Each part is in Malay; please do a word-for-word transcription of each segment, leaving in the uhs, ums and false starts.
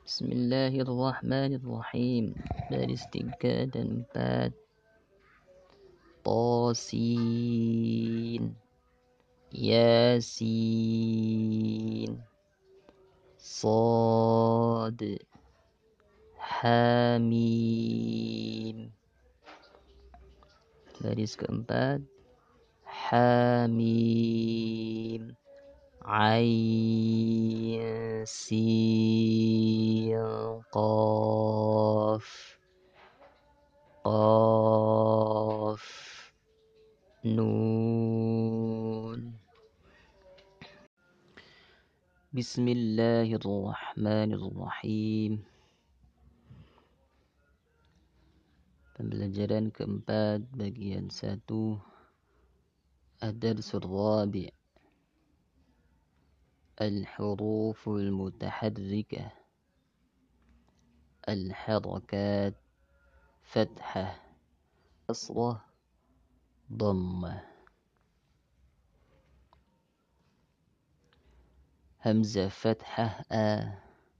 Bismillahirrahmanirrahim. Baris tiga dan empat. Tosin, Yasin, Sod, Hamim. Baris keempat. Hamim, Ain, Sin, Qaf, Qaf, Nun. Bismillahirrahmanirrahim. Pembelajaran keempat, bagian satu, Ad-Darsul Rabi', Al-Huruful Mutaharrikah, Al-Harakat, Fathah, Kasrah, Dhammah. Hamzah Fathah A,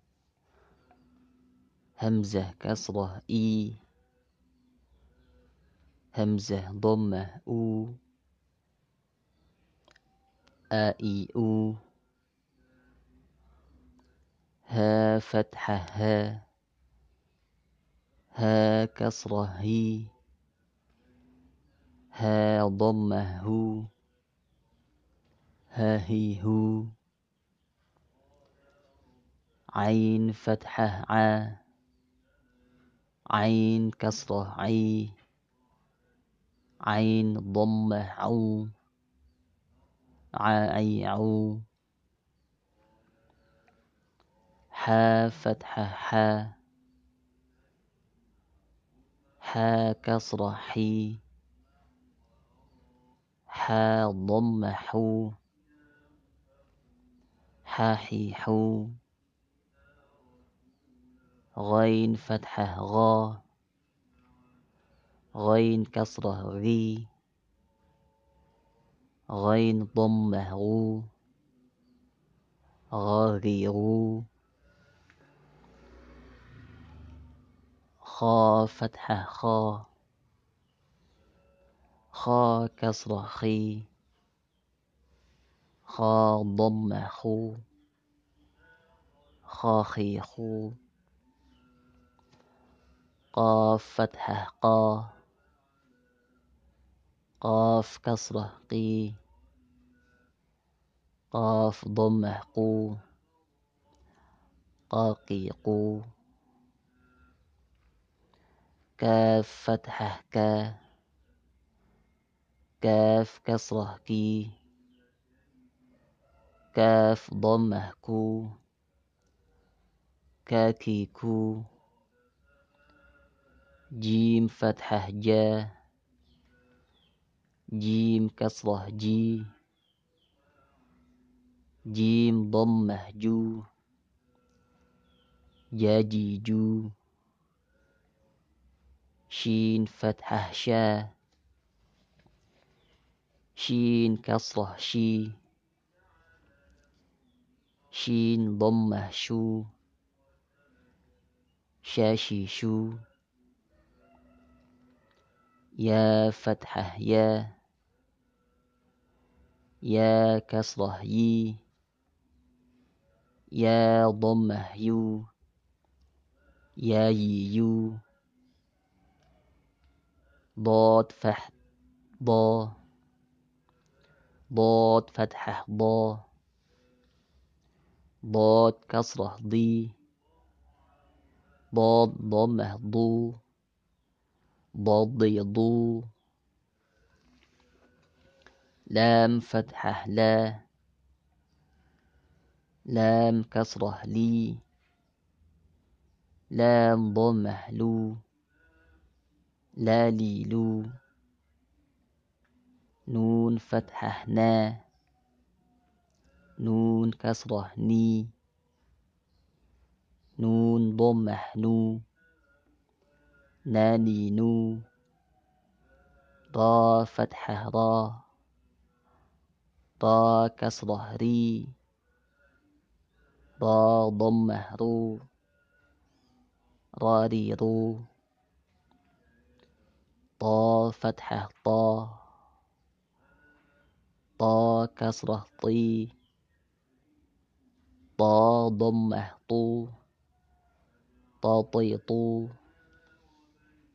Hamzah Kasrah I, Hamzah Dhammah U, A I U, Ha Fathah Ha, Ha Kasrah Hi, Ha Dhammah Hu, Ha Hi Hu, Ain Fathah A, Ain Kasrah I, Ain Dhammah Au, A I Au, Ha Fathah Ha, Ha Kasrah Hi, Ha Dhammah Hu, Ha Hi Hu, Ghain Fathah Gha, Ghain Kasrah Ghi, Ghain Dhammah Ghu, Ghaghiru, Kha Fathah Kha, Kha Kasrah Khi, Kha Dhammah Khu, Khakhi Khu, Qaf Fathah Qa, Qaf Kasrah Qi, Qaf Dhammah Qu, Qaqi Qu, Kaf Fathah Ka, Kaf Kasrah Ki, Kaf Dhammah Ku, Kaki Ku, Jim Fathah Ja, Jim Kasrah Ji, Jim Dhammah Ju, Jaji Ju, Shin Fathah Sha, Shin Kasrah Shi, Shin Dhammah Shu, Shashi Shu, Ya Fathah Ya, Ya Kasrah Yi, Ya Dhammah Yu, Ya Yi Yu, Dad Fath Da, Dad Fathah Da, Dad Kasrah Di, Dad Dhammah Du, Dadi Du, Lam Fathah La, Lam Kasrah Li, Lam Dhammah Lu, La Li Lu, Nun Fathah Na, Nun Kasrah Ni, Nun Dhammah Nu, Nani Nu, Ra Fathah Ra, Ra Kasrah Ri, Ra Dhammah Ru, را ري رو طا فتحة طا طا كسرة طي طا ضمة طو طا طي طو